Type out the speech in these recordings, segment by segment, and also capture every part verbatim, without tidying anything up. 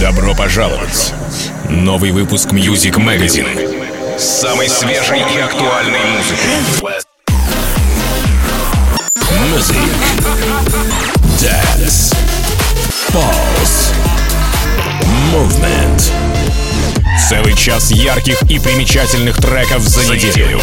Добро пожаловать! Новый выпуск Music Magazine с самой свежей и актуальной музыкой. Music, Dance, Pulse, Movement. Целый час ярких и примечательных треков за неделю.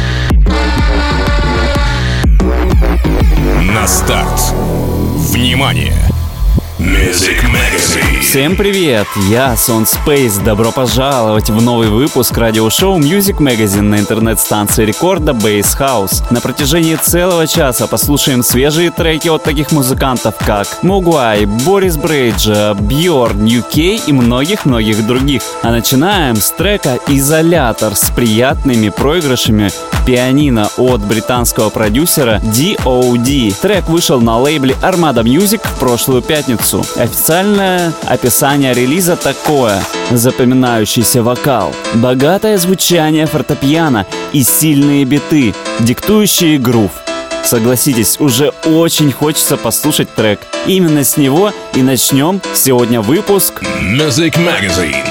На старт. Внимание! Music Magazine. Всем привет, я Сон Спейс. Добро пожаловать в новый выпуск радиошоу Music Magazine на интернет-станции рекорда Bass House. На протяжении целого часа послушаем свежие треки от таких музыкантов, как Могуай, Борис Брейджа, Бьорн, ю кей и многих-многих других. А начинаем с трека «Изолятор» с приятными проигрышами пианино от британского продюсера ди о ди. Трек вышел на лейбле Armada Music в прошлую пятницу. Официальное описание релиза такое: запоминающийся вокал, богатое звучание фортепиано и сильные биты, диктующие грув. Согласитесь, уже очень хочется послушать трек. Именно с него и начнем сегодня выпуск Music Magazine.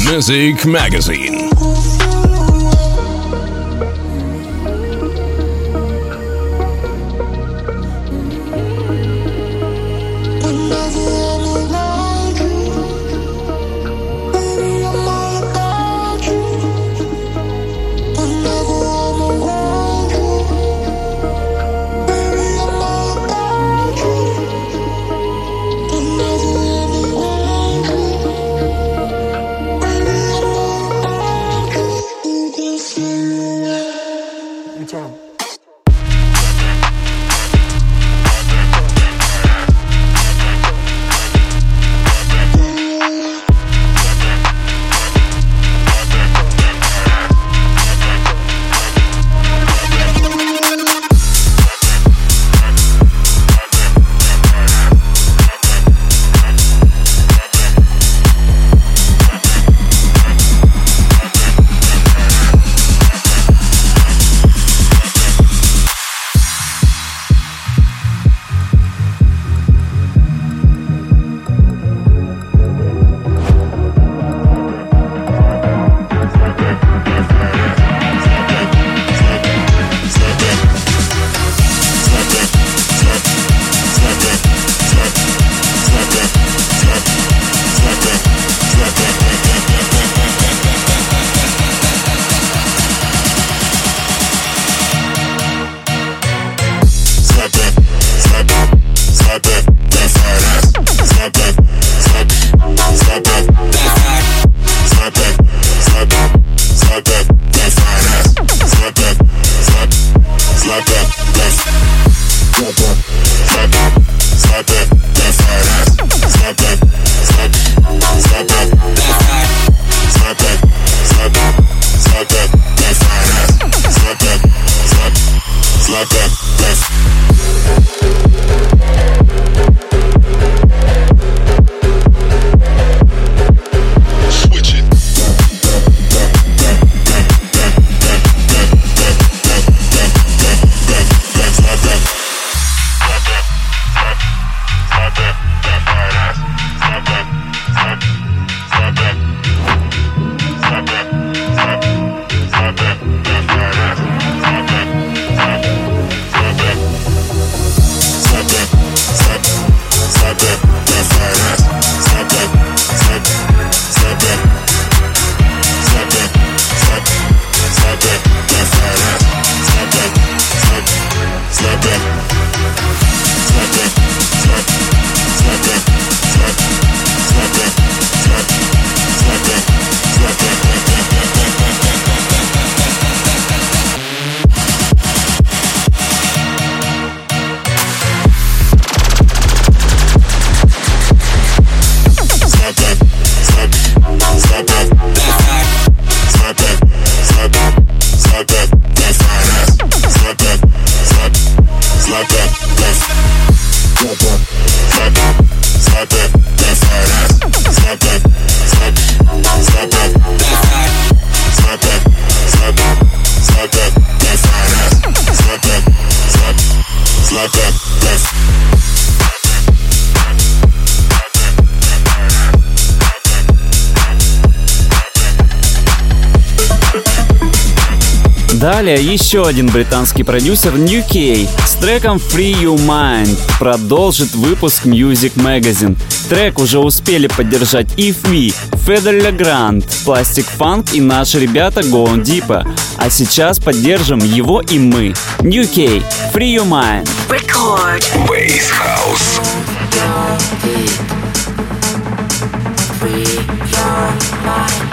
Music Magazine. Далее еще один британский продюсер New Kay с треком Free Your Mind продолжит выпуск Music Magazine. Трек уже успели поддержать If We, Fedor Legrand, Plastic Funk и наши ребята Going Deeper. А сейчас поддержим его и мы. New Kay, Free Your Mind. Record. Bass House. Free your mind.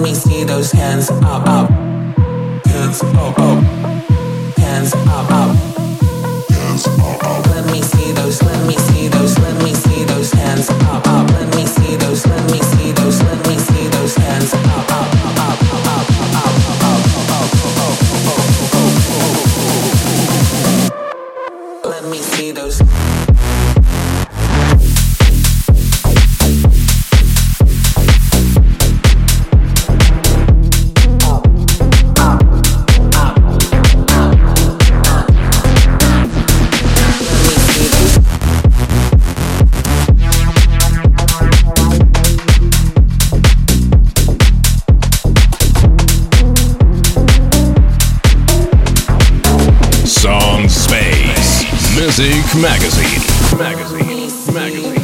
me see those hands up, up. Hands up, up. Hands up, up. Hands up, up. Let me see those, let me see those, let me see those hands up, up. Let me see those, let me see those, let me see those hands up, up, up, up, up, up, up, up. Let me see those. Music Magazine. Magazine. Magazine.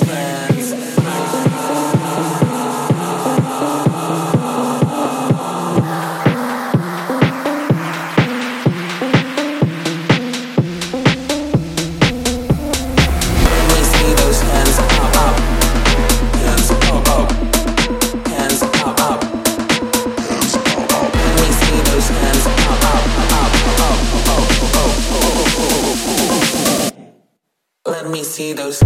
See those.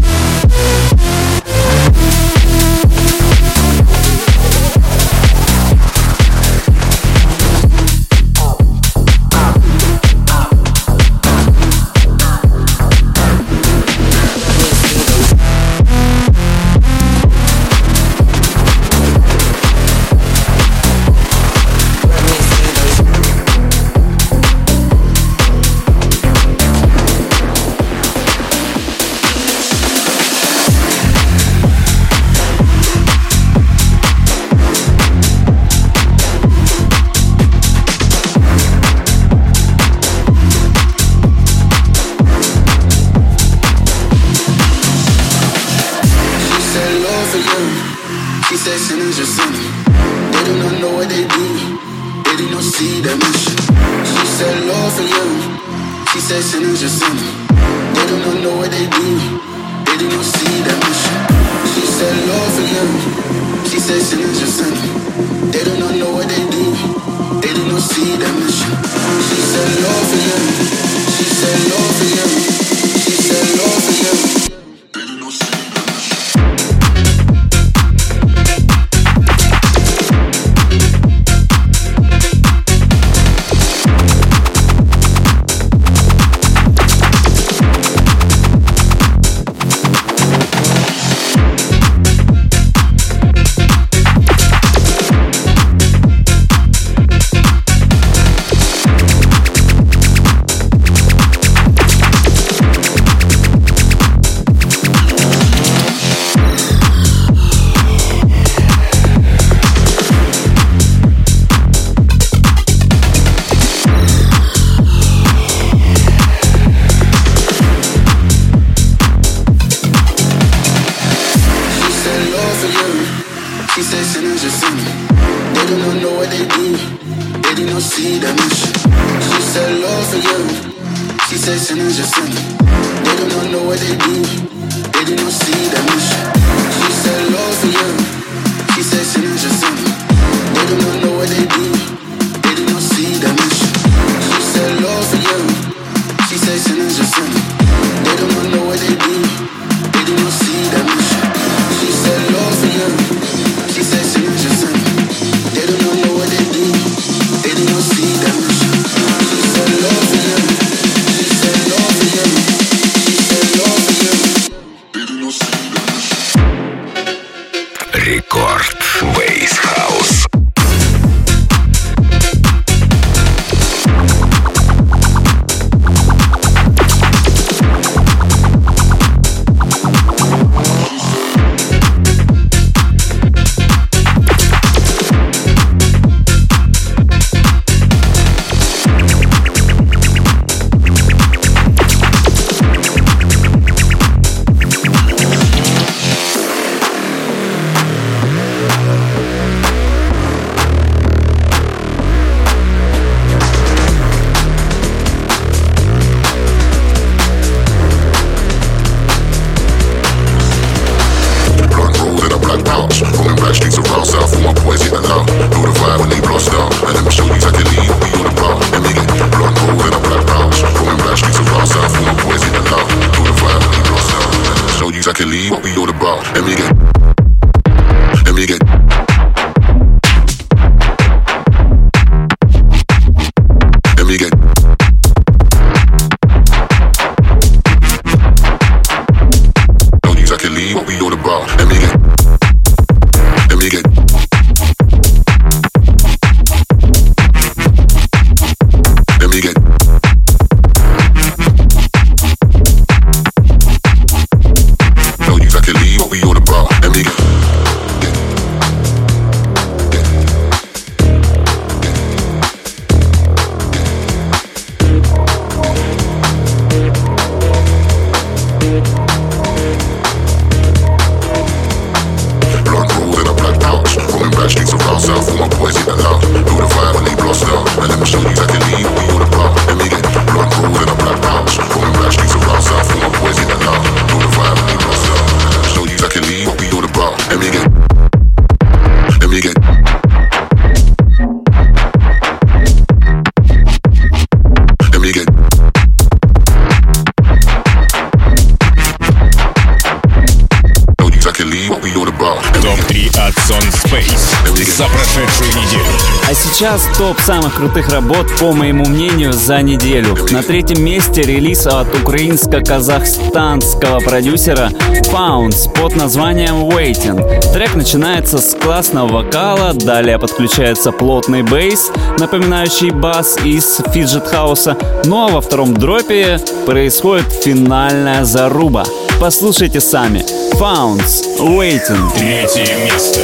топ три от Сон Space за прошедшую неделю. А сейчас топ самых крутых работ, по моему мнению, за неделю. На третьем месте релиз от украинско-казахстанского продюсера Founds под названием Waiting. Трек начинается с классного вокала, далее подключается плотный бейс, напоминающий бас из фиджет-хауса, ну а во втором дропе происходит финальная заруба. Послушайте сами. Founds, Waiting. Третье место.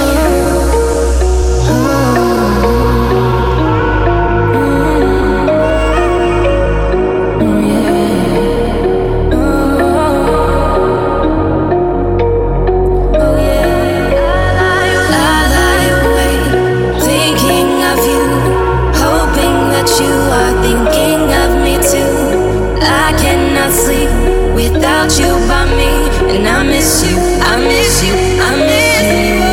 Without you by me, and I miss you, I miss you, I miss you.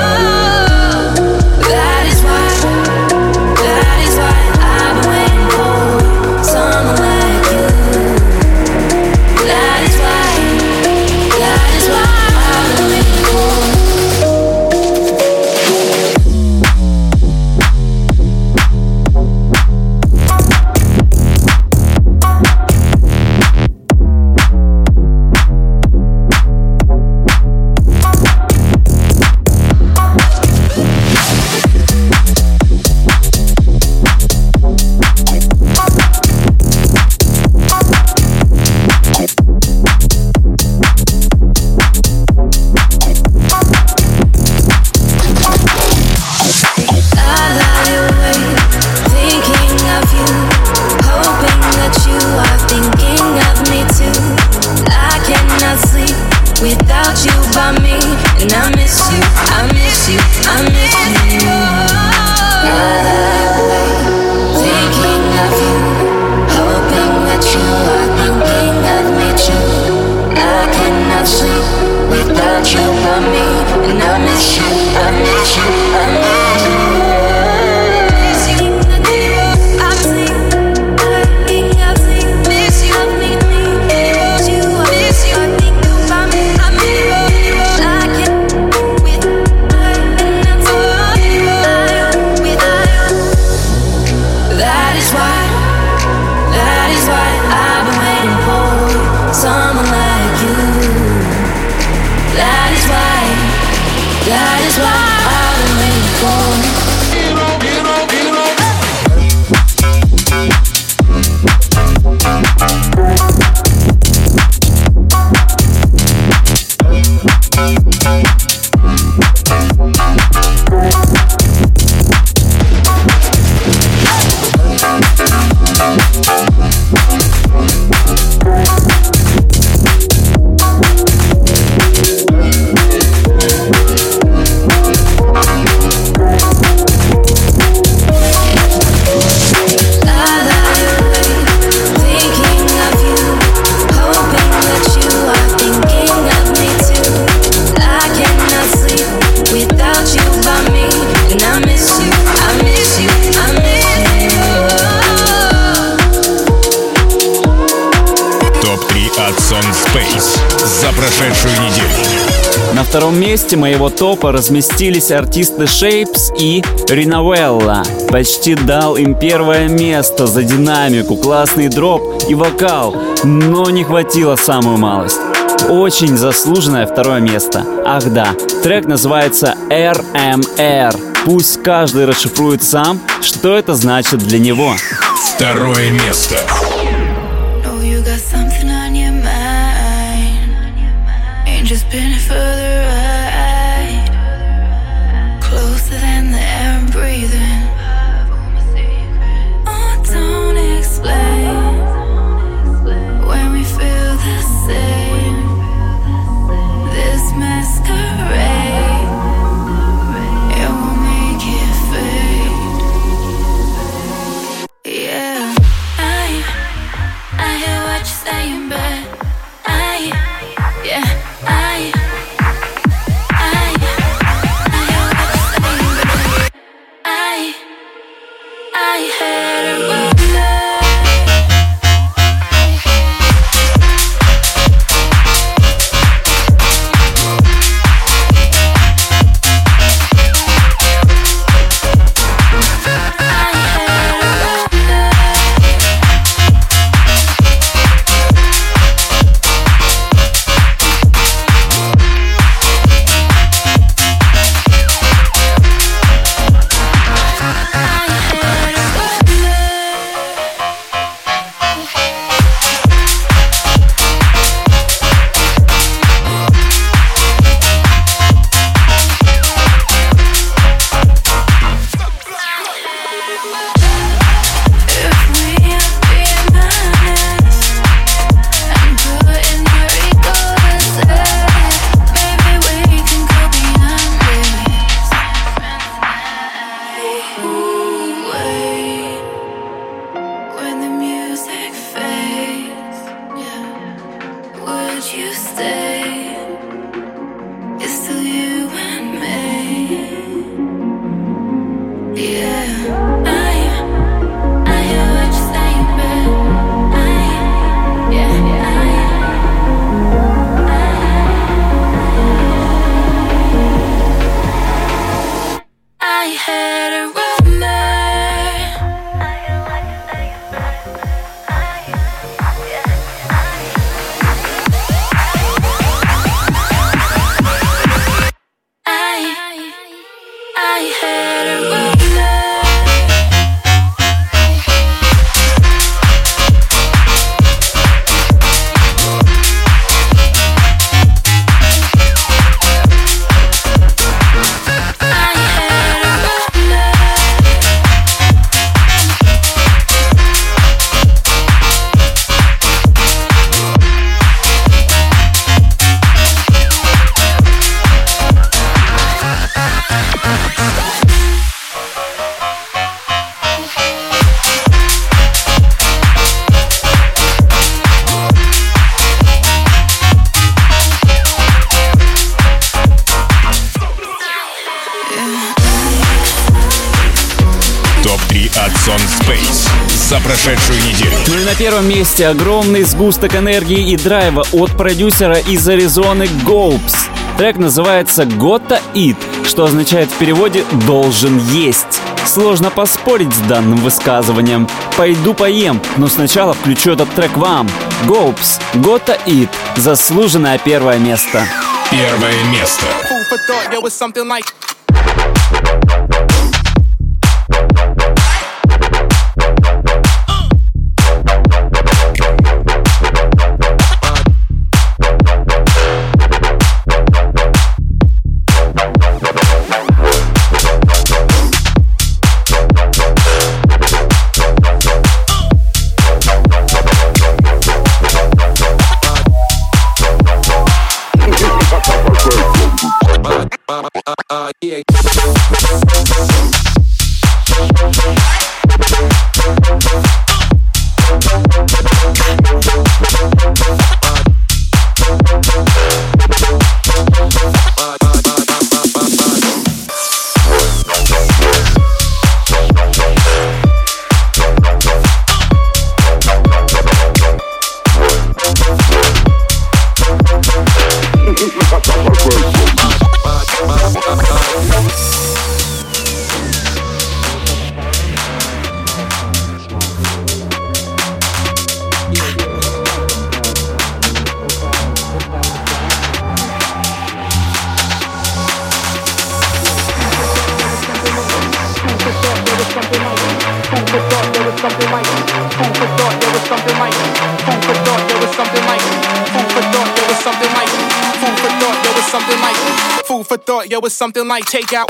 That is why, that is why I've been waiting for someone like you. That is why, that is why I've been waiting На втором месте моего топа разместились артисты Shapes и Риновелла. Почти дал им первое место за динамику, классный дроп и вокал, но не хватило самую малость. Очень заслуженное второе место. Ах да, трек называется эр эм эр. Пусть каждый расшифрует сам, что это значит для него. Второе место. Just been it for the ride, closer than the air I'm breathing. Oh, don't explain when we feel the same. This masquerade, it won't make it fade. Yeah, I три от Сон Space за прошедшую неделю. Ну и на первом месте огромный сгусток энергии и драйва от продюсера из Аризоны Гоупс. Трек называется «Gotta Eat», что означает в переводе «должен есть». Сложно поспорить с данным высказыванием. Пойду поем, но сначала включу этот трек вам. Гоупс, «Gotta Eat», заслуженное первое место. Первое место. Uh, yeah. Food for thought, yo, it's something like takeout.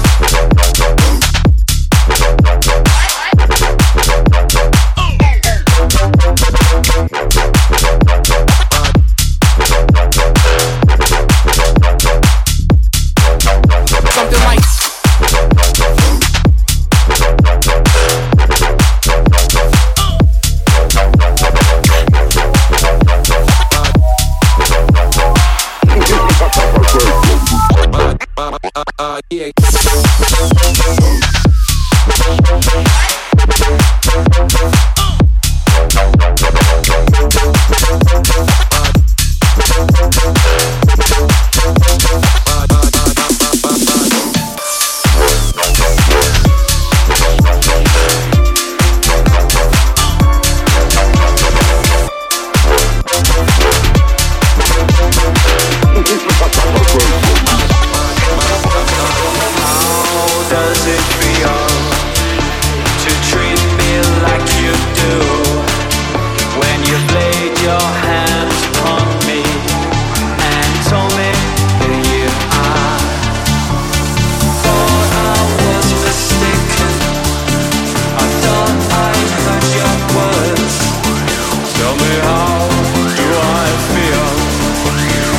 Something like Uh, yeah.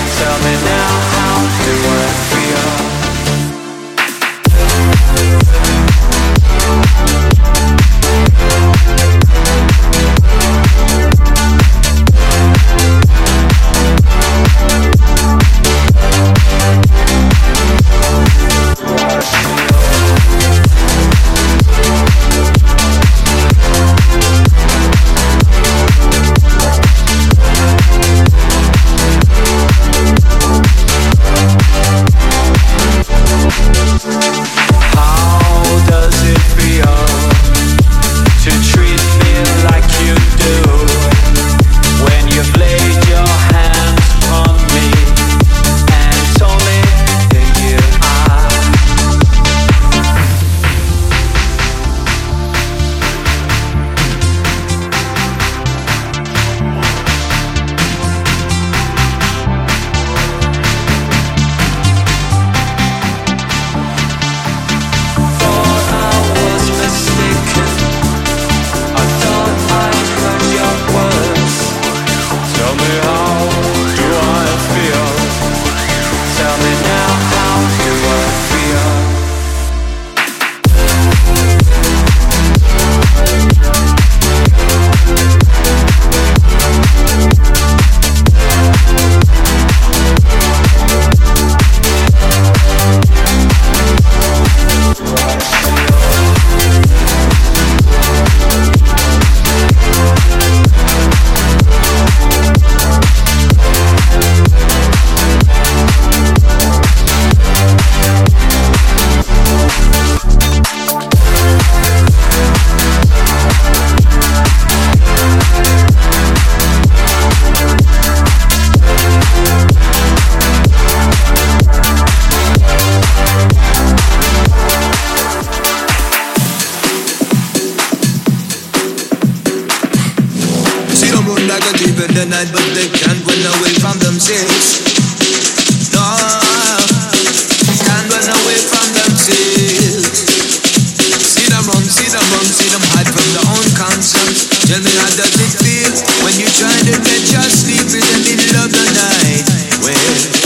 We'll be right back. conquer the night, but they can't run away from themselves. No, can't run away from themselves. See them run, see them run, see them hide from their own conscience. Tell me how does it feel when you try to get your sleep in the middle of the night? Well,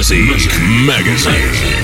Music Magazine.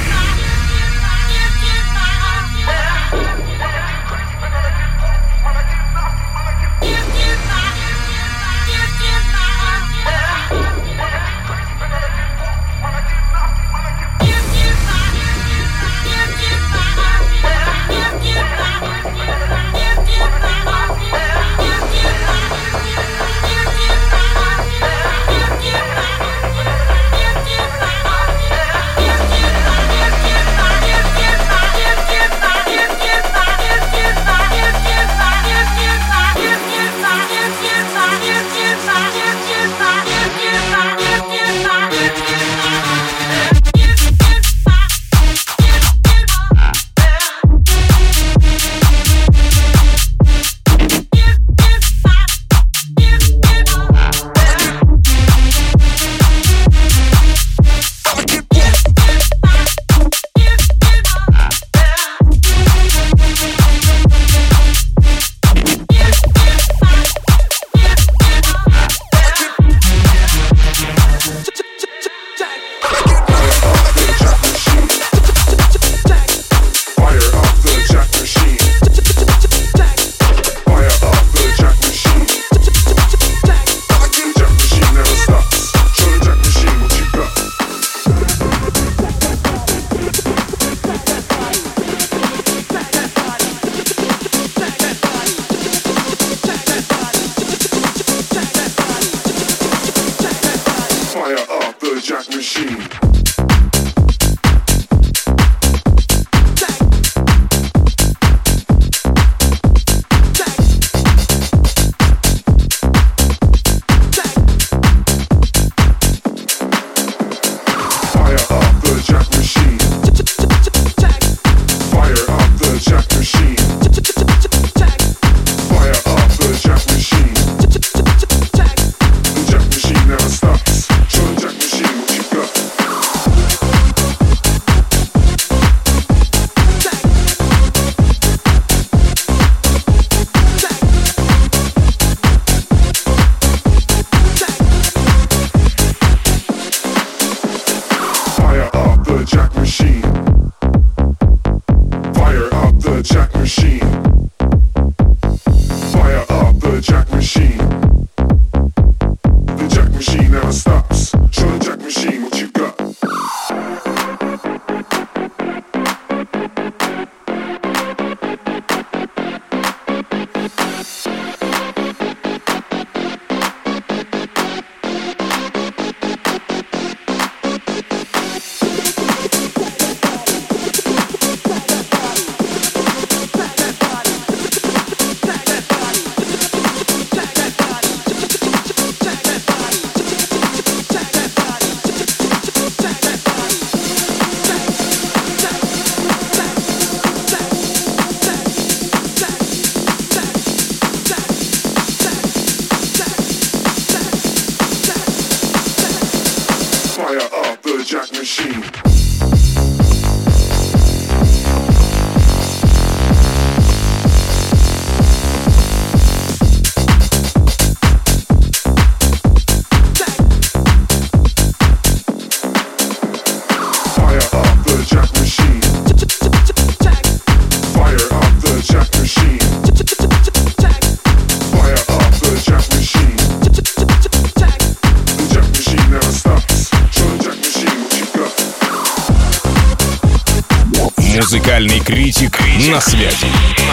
Музыкальный критик на связи.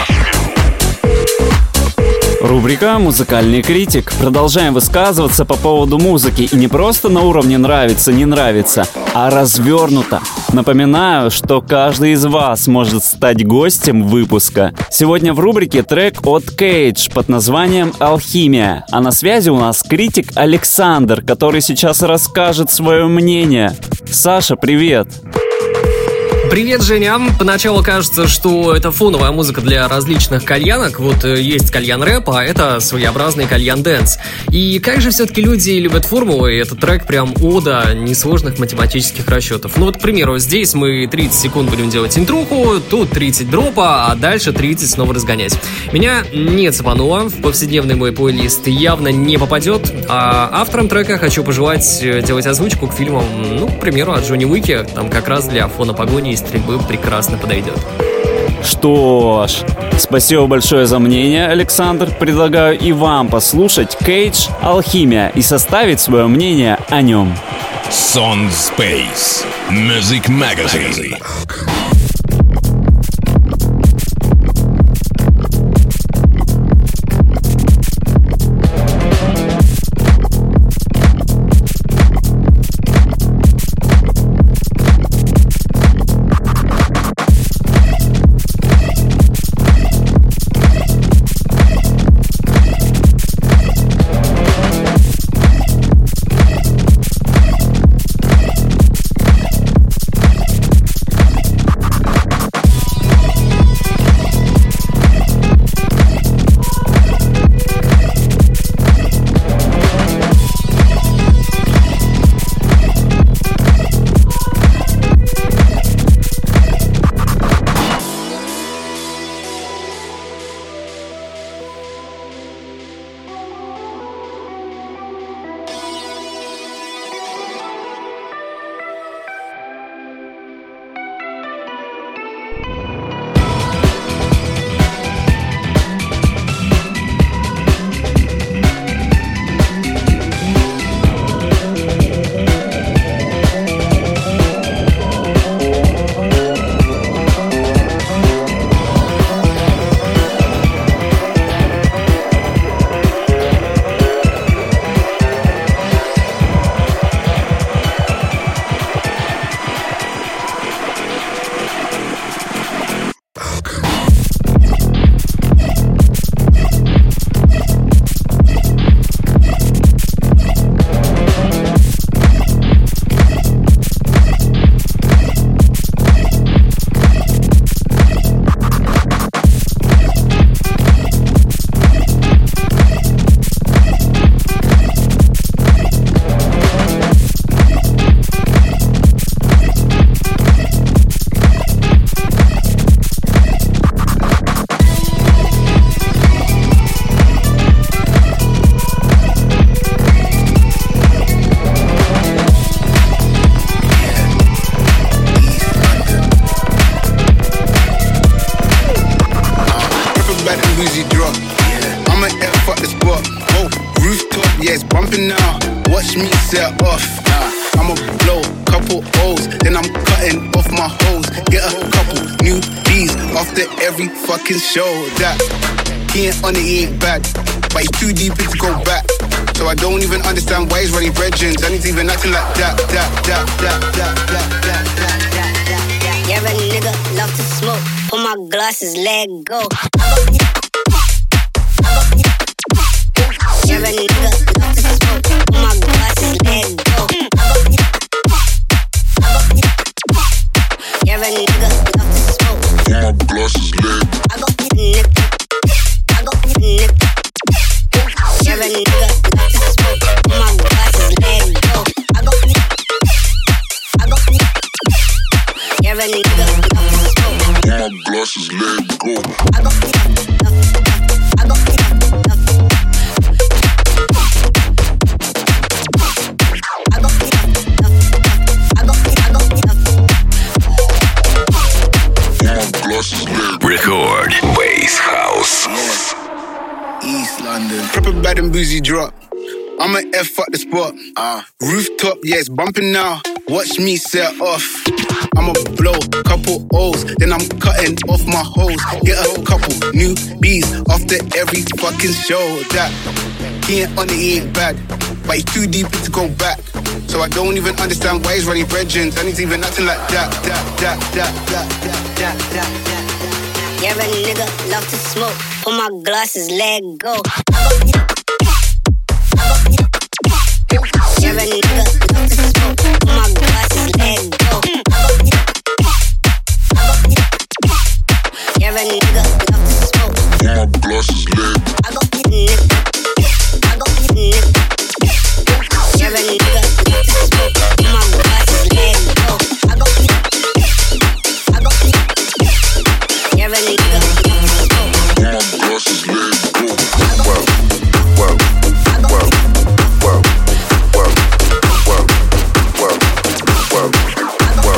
Рубрика «Музыкальный критик». Продолжаем высказываться по поводу музыки. И не просто на уровне «нравится, не нравится», а развернуто. Напоминаю, что каждый из вас может стать гостем выпуска. Сегодня в рубрике трек от Кейдж под названием «Алхимия». А на связи у нас критик Александр, который сейчас расскажет свое мнение. Саша, привет! Привет, Женя. Поначалу кажется, что это фоновая музыка для различных кальянок. Вот есть кальян-рэп, а это своеобразный кальян-дэнс. И как же все-таки люди любят формулы, и этот трек прям ода несложных математических расчетов. Ну вот, к примеру, здесь мы тридцать секунд будем делать интруху, тут тридцать дропа, а дальше тридцать снова разгонять. Меня не цепануло, в повседневный мой плейлист явно не попадет, а авторам трека хочу пожелать делать озвучку к фильмам, ну, к примеру, от Джонни Уики, там как раз для фона погони и стрельбы прекрасно подойдет. Что ж, спасибо большое за мнение, Александр. Предлагаю и вам послушать Кейдж «Алхимия» и составить свое мнение о нем. Sound Space Music Magazine. Show that he ain't on it, he ain't bad, but he's too deep in to go back. So I don't even understand why he's running brethrens, and he's even acting like that, that, that, that, that, that, that, that, that, that. Yeah, a nigga love to smoke. Pull my glasses, let go. Yeah, a nigga love to smoke. Pull my glasses, let go. Yeah, a nigga love to smoke. Pull my glasses, let go. I got the nigga. I got the nigga. Yeah, a nigga love to smoke. Pull my glasses, let go. I got the. I got the. Yeah, a nigga love to smoke. Pull my glasses, let go. I got the. I got the. Record Bass House. East London. Proper bad and boozy drop. I'ma F up the spot. Uh, rooftop, yeah, it's bumping now. Watch me set off. I'ma blow a couple O's, then I'm cutting off my hoes. Get a couple new B's after every fucking show. That he ain't on it, he ain't bad, but he's too deep in to go back. So I don't even understand why he's running brethrens, and he's even acting like that, that, that, that, that, that, that, that, that. Yeah, a nigga love to smoke. Pull my glasses, let go. Yeah, a nigga love to smoke. Pull my glasses, let go. Every nigga love to smoke. My blast is lit. I got the nigga. I got the nigga. Every nigga love to smoke. My blast is lit. Oh, I got the. I got the. Every nigga love to smoke. My blast is lit. Whoa, whoa, whoa, whoa, whoa, whoa, whoa, whoa, whoa,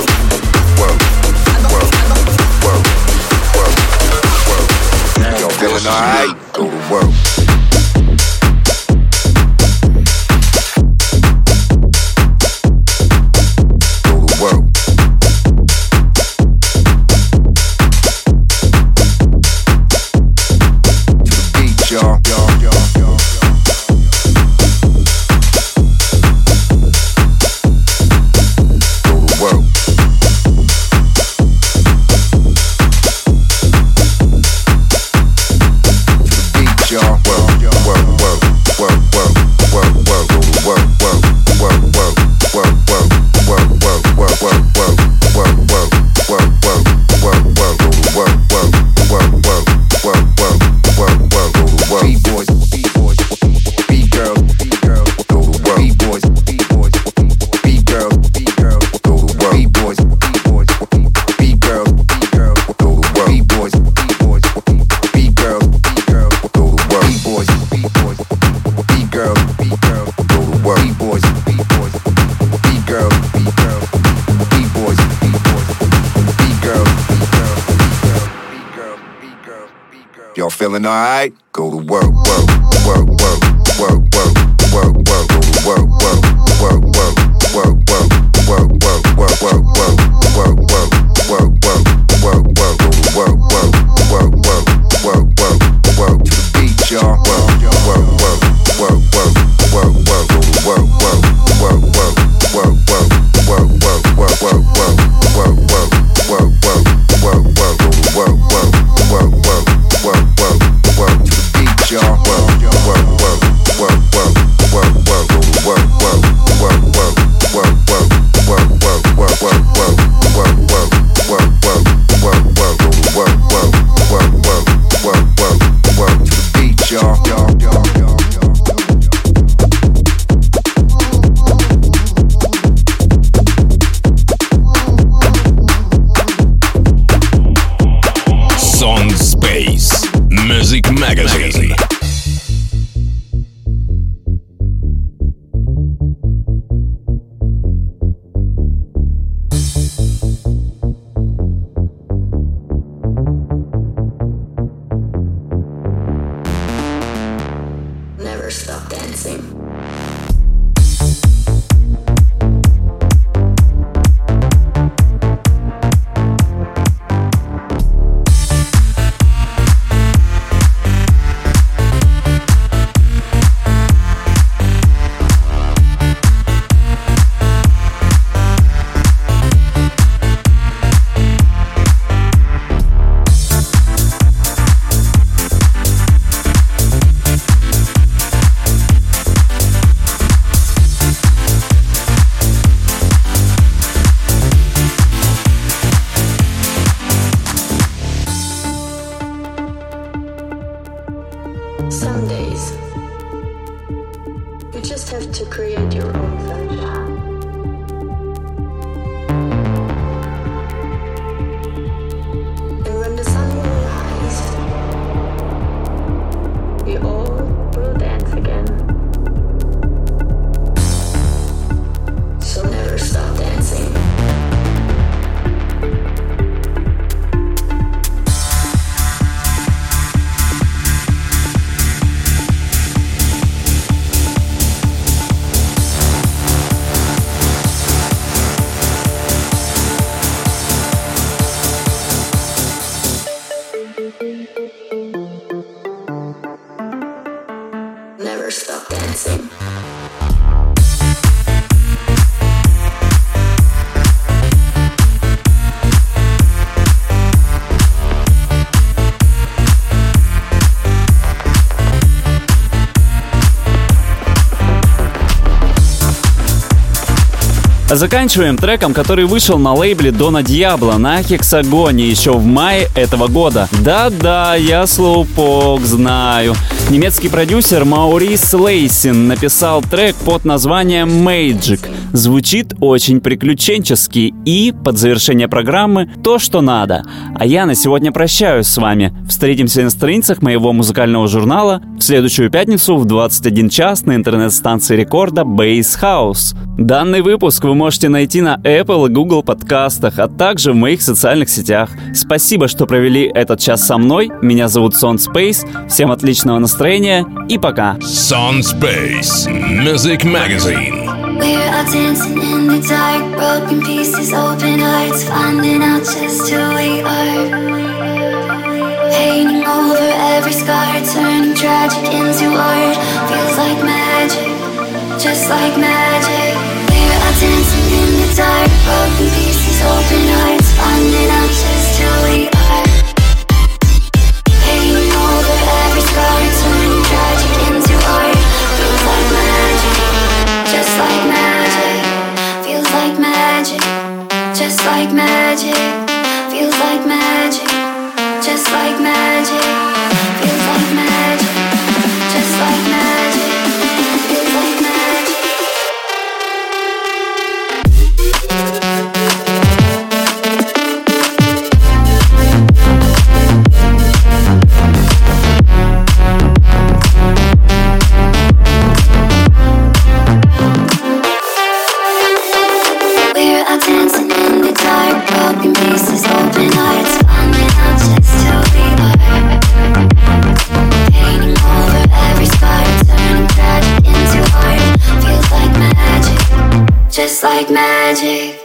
whoa, whoa. Y'all feeling alright? Go to work. Y'all feeling alright? Go to work, work, work, work, work, work, work, work, go to work, work, work, work, work, work, work, work, work, work, work, work, work, work, work, work, work, go to work, work, work, work, work, work, work, to the beat, y'all. Work, work, work, work, work, work, work, go to work, work, work, work, work, work, work, work, work, work, work, work, work, work, work, work, work, go to work, work, work, work. Work, work, work to the beat, y'all. Work, work, work, work, work, work, work, go to work, work, work, work, work, work, work, work, work, work, work, work, work, work, work, work, work, go to work, work, work, work, work, work, work to the beat, y'all, y'all, y'all, y'all, Sound Space Music Magazine. Never stop dancing. Some days, you just have to create your own sunshine. And when the sun will rise, we all will dance again. So never stop dancing. Never stop dancing. А заканчиваем треком, который вышел на лейбле Дона Диабло на Хексагоне еще в мае этого года. Да-да, я слоупок знаю. Немецкий продюсер Маурис Лейсин написал трек под названием Magic. Звучит очень приключенчески и, под завершение программы, то, что надо. А я на сегодня прощаюсь с вами. Встретимся на страницах моего музыкального журнала в следующую пятницу в двадцать один час на интернет-станции рекорда Bass House. Данный выпуск вы можете найти на Apple и Google подкастах, а также в моих социальных сетях. Спасибо, что провели этот час со мной. Меня зовут Сон Space. Всем отличного настроения и пока. Сон Space Music Magazine. We're out dancing in the dark, broken pieces, open hearts, finding out just who we are. Painting over every scar, turning tragic into art. Feels like magic, just like magic. We're out dancing in the dark, broken pieces, open hearts, finding out just who we are. Painting over every scar, turning tragic into art. Feels like magic, just like magic. Feels like magic, just like magic. Feels like magic, just like magic. Feels like magic, just like magic. Feels like magic. We're out dancing in the dark, broken pieces, open hearts, finding out just who we are. Painting over every scar, turning tragic into art. Feels like magic, just like magic.